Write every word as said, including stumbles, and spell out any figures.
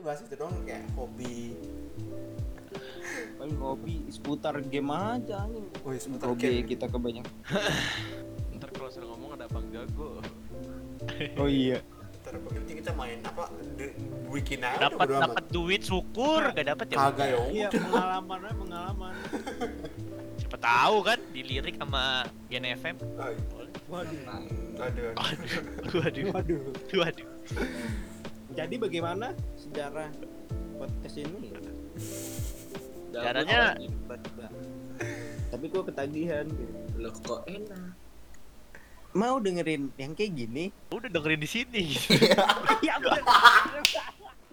bahas itu doang kayak hobi. Paling hobi seputar game aja nih. Oh, seputar Hobi game. kita kebanyakan. Ntar kalau sudah ngomong ada abang jago. Oh iya. Ntar nanti kita main apa? De- bikin aja Dapat bodo amat. dapat duit syukur, gak dapat ya. Kagak ya. Iya, pengalaman aja pengalaman. Siapa tahu kan dilirik sama Gen F M. Ay, Waduh. Aduh. Waduh, waduh, Waduh. waduh. Jadi bagaimana sejarah podcast ini? Caranya Tapi gua ketagihan gitu. Loh kok enak. Mau dengerin yang kayak gini? udah dengerin di sini. Ya bener.